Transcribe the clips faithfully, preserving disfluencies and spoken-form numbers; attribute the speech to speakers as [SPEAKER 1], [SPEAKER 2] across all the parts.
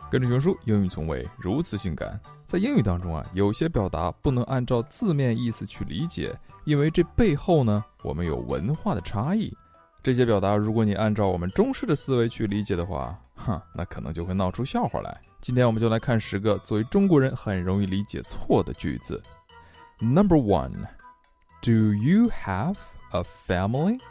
[SPEAKER 1] 跟着熊叔，英语从未如此性感。在英语当中啊，有些表达不能按照字面意思去理解，因为这背后呢，我们有文化的差异。这些表达如果你按照我们中式的思维去理解的话，哈，那可能就会闹出笑话来。今天我们就来看十个作为中国人很容易理解错的句子。Number one, do you have a family?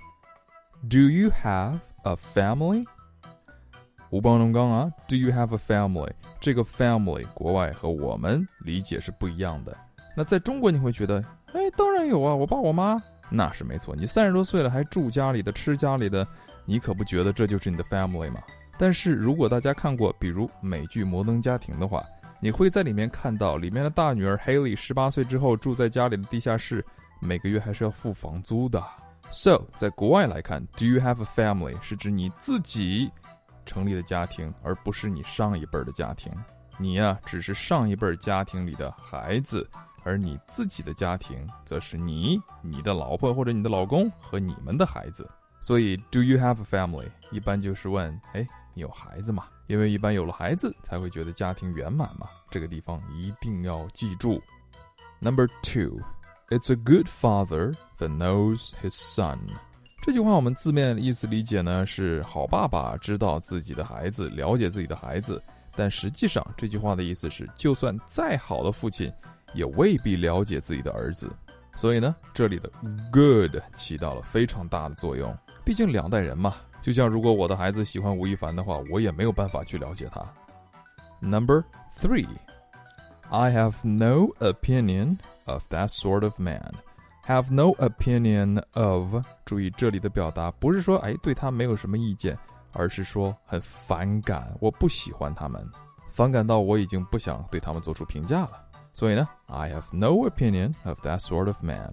[SPEAKER 1] Do you have a family?吴邦龙刚啊 ，Do you have a family？ 这个 family 国外和我们理解是不一样的。那在中国你会觉得，哎，当然有啊，我爸我妈，那是没错。你三十多岁了还住家里的吃家里的，你可不觉得这就是你的 family 吗？但是如果大家看过比如美剧《摩登家庭》的话，你会在里面看到里面的大女儿 Haley 十八岁之后住在家里的地下室，每个月还是要付房租的。So 在国外来看 ，Do you have a family 是指你自己成立的家庭，而不是你上一辈的家庭。你呀、啊，只是上一辈家庭里的孩子，而你自己的家庭则是你、你的老婆或者你的老公和你们的孩子。所以 Do you have a family 一般就是问，哎，你有孩子吗？因为一般有了孩子才会觉得家庭圆满嘛。这个地方一定要记住。Number two, it's a good father that knows his son.这句话我们字面意思理解呢是好爸爸知道自己的孩子，了解自己的孩子，但实际上这句话的意思是就算再好的父亲也未必了解自己的儿子。所以呢，这里的 good 起到了非常大的作用，毕竟两代人嘛，就像如果我的孩子喜欢吴亦凡的话，我也没有办法去了解他。Number three, I have no opinion of that sort of man.Have no opinion of 注意这里的表达不是说哎对他没有什么意见，而是说很反感，我不喜欢他们，反感到我已经不想对他们做出评价了。所以呢 I have no opinion of that sort of man.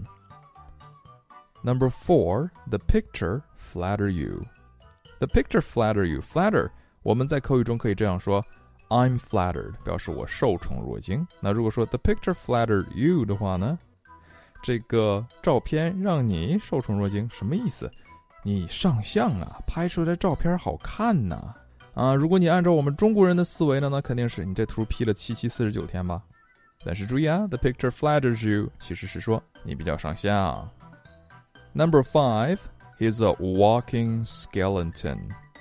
[SPEAKER 1] Number four, the picture flatter you. The picture flatter you. Flatter 我们在口语中可以这样说， I'm flattered 表示我受宠若惊。那如果说 the picture flattered you 的话呢，这个照片让你受宠若惊，什么意思？你上相啊，拍出来的照片好看呐、啊！啊，如果你按照我们中国人的思维呢，那肯定是你这图 P 了七七四十九天吧。但是注意啊 ，the picture flatters you 其实是说你比较上相。Number five, he's a walking skeleton.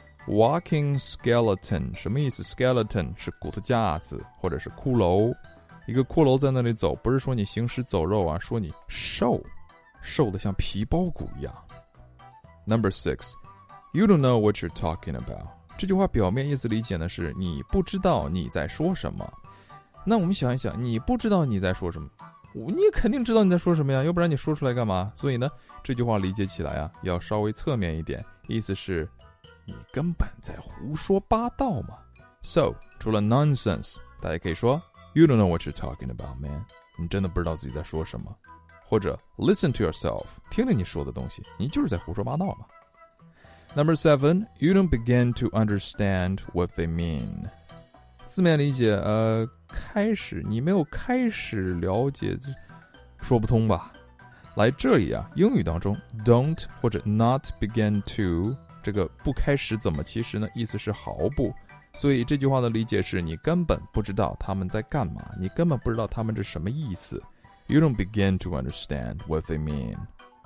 [SPEAKER 1] Walking skeleton 什么意思 ？skeleton 是骨头架子或者是骷髅。一个骷髅在那里走，不是说你行尸走肉啊，说你瘦，瘦得像皮包骨一样。Number six, you don't know what you're talking about. 这句话表面意思理解呢是你不知道你在说什么。那我们想一想，你不知道你在说什么，你也肯定知道你在说什么呀，要不然你说出来干嘛？所以呢，这句话理解起来啊，要稍微侧面一点，意思是你根本在胡说八道嘛。So 除了 nonsense， 大家可以说You don't know what you're talking about, man. 你真的不知道自己在说什么。或者 listen to yourself. 听听你说的东西，你就是在胡说八道嘛。Number seven, you don't begin to understand what they mean. 字面理解，呃，开始，你没有开始了解，说不通吧？来这里啊，英语当中 don't 或者 not begin to 这个不开始怎么，其实呢意思是毫不。所以这句话的理解是你根本不知道他们在干嘛，你根本不知道他们这什么意思。You don't begin to understand what they mean.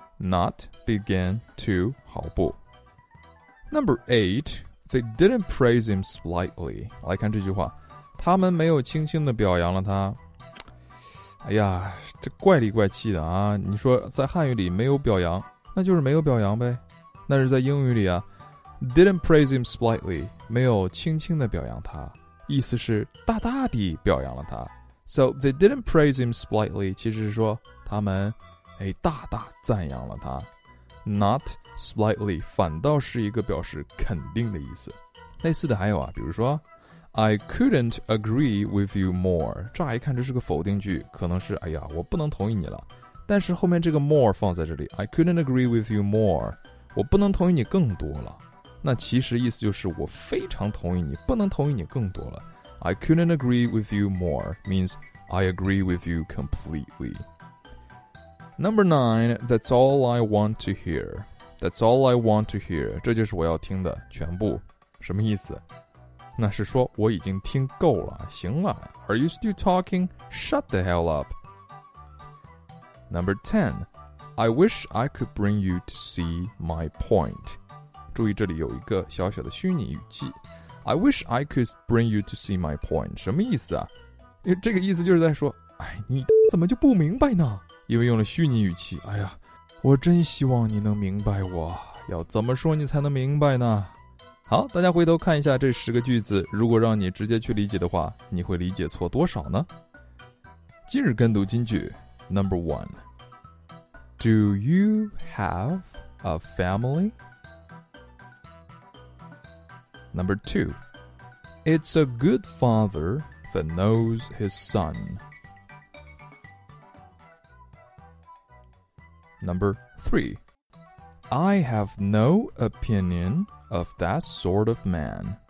[SPEAKER 1] Not begin to 毫不。Number eight, they didn't praise him slightly. 来看这句话，他们没有轻轻地表扬了他。哎呀，这怪里怪气的啊！你说在汉语里没有表扬，那就是没有表扬呗。但是在英语里啊，didn't praise him slightly 没有轻轻地表扬他，意思是大大地表扬了他。So they didn't praise him slightly 其实是说他们哎大大赞扬了他。Not slightly 反倒是一个表示肯定的意思。类似的还有啊，比如说 I couldn't agree with you more， 乍一看这是个否定句，可能是哎呀我不能同意你了，但是后面这个 more 放在这里 I couldn't agree with you more， 我不能同意你更多了，那其实意思就是我非常同意你，不能同意你更多了。 I couldn't agree with you more means I agree with you completely. Number nine, that's all I want to hear. That's all I want to hear. 这就是我要听的全部。什么意思？ 那是说我已经听够了，行了。Are you still talking? Shut the hell up. Number ten, I wish I could bring you to see my point. 注意这里有一个小小的虚拟语气。I wish I could bring you to see my point. 什么意思啊？因为这个意思就是在说，哎，你怎么就不明白呢？因为用了虚拟语气，哎呀，我真希望你能明白我，要怎么说你才能明白呢？好，大家回头看一下这十个句子，如果让你直接去理解的话，你会理解错多少呢？今日跟读金句 Number one, Do you have a family? Number two, It's a good father that knows his son. Number three, I have no opinion of that sort of man.